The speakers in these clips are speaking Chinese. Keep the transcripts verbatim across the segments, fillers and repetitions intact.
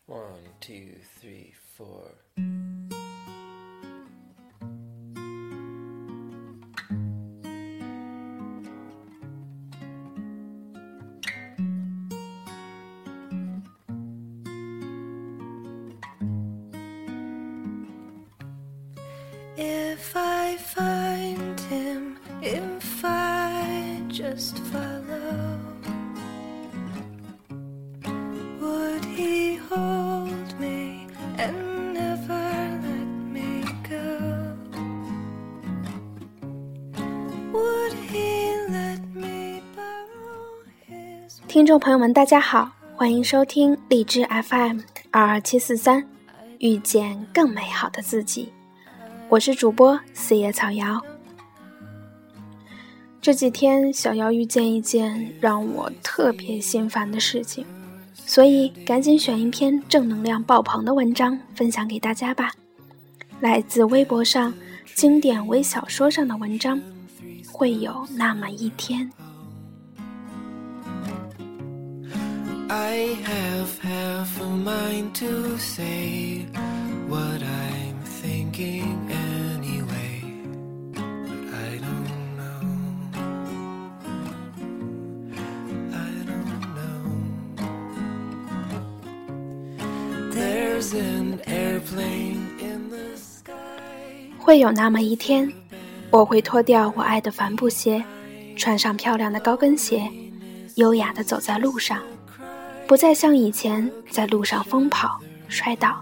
One, two, three, four. If I find him, if I just follow, would he hold me and never let me go? Would he let me borrow his... 听众朋友们大家好，欢迎收听荔枝 F M 二二七四三，遇见更美好的自己。我是主播四叶草瑶。这几天小瑶遇见一件让我特别心烦的事情，所以赶紧选一篇正能量爆棚的文章分享给大家吧。来自微博上经典微小说上的文章，会有那么一天。 I have half a mind to say what I'm thinking anyway, but I don't know, I don't know. There's an airplane in the sky. 会有那么一天，我会脱掉我爱的帆布鞋，穿上漂亮的高跟鞋，优雅地走在路上，不再像以前在路上疯跑摔倒。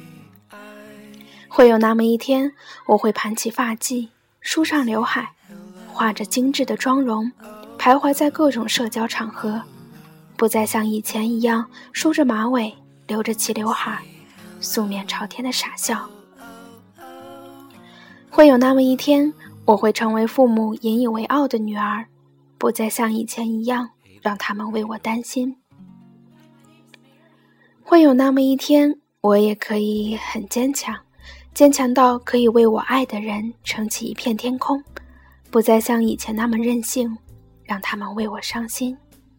会有那么一天，我会盘起发髻，梳上刘海，画着精致的妆容，徘徊在各种社交场合，不再像以前一样梳着马尾，留着齐刘海，素面朝天的傻笑。会有那么一天，我会成为父母引以为傲的女儿，不再像以前一样让他们为我担心。会有那么一天，我也可以很坚强，坚强到可以为我爱的人撑起一片天空，不再像以前那么任性，让他们为我伤心。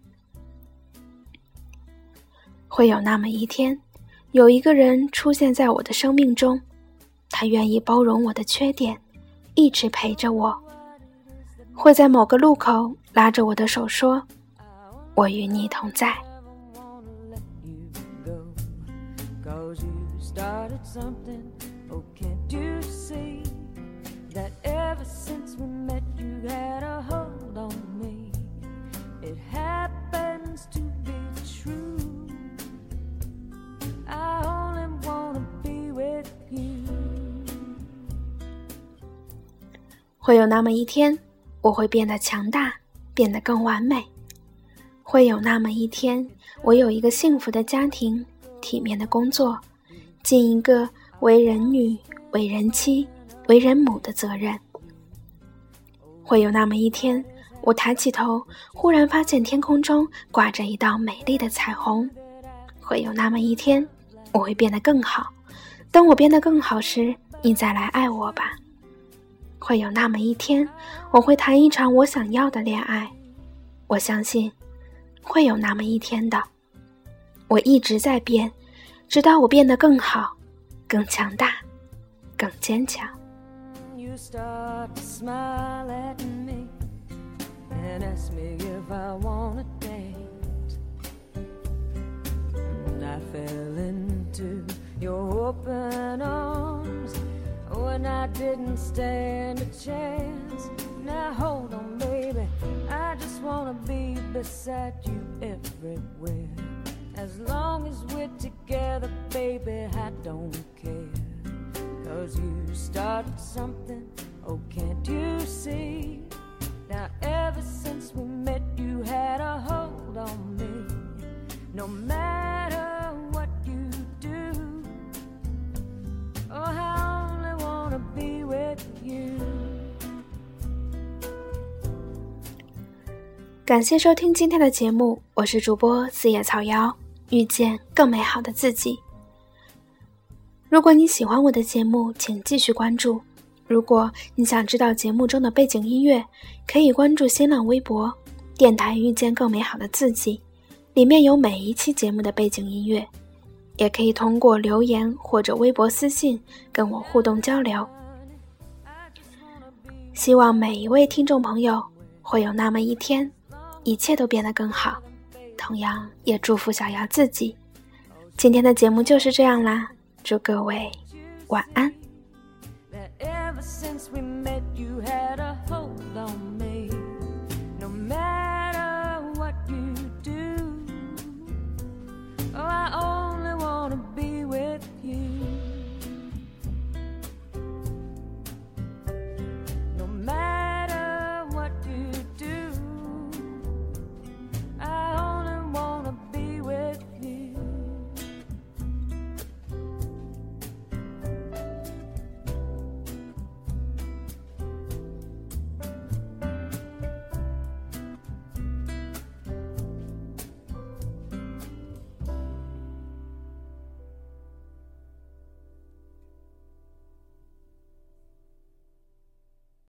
会有那么一天，有一个人出现在我的生命中，他愿意包容我的缺点，一直陪着我，会在某个路口拉着我的手说，我与你同在。 Started something, oh can't you see that ever since we met you had a hold on me. It happens to be true, I only wanna be with you. 会有那么一天，我会变得强大，变得更完美。会有那么一天，我有一个幸福的家庭，体面的工作，尽一个为人女、为人妻、为人母的责任。会有那么一天，我抬起头，忽然发现天空中挂着一道美丽的彩虹。会有那么一天，我会变得更好，等我变得更好时，你再来爱我吧。会有那么一天，我会谈一场我想要的恋爱。我相信会有那么一天的。我一直在变，直到我变得更好，更强大，更坚强。 You start to smile at me and ask me if I wanna dance, and I fell into your open arms when I didn't stand a chance. Now hold on baby, I just wanna be beside you everywhere. As long as we're together, baby, I don't care. Cause you started something, oh can't you see? Now ever since we met, you had a hold on me. No matter what you do, oh I only wanna be with you. 感谢收听今天的节目，我是主播四叶草瑶。遇见更美好的自己。如果你喜欢我的节目，请继续关注。如果你想知道节目中的背景音乐，可以关注新浪微博电台遇见更美好的自己，里面有每一期节目的背景音乐。 也可以通过留言或者微博私信跟我互动交流。希望每一位听众朋友会有那么一天，一切都变得更好，同样也祝福小瑶自己。今天的节目就是这样啦，祝各位晚安。Ever since we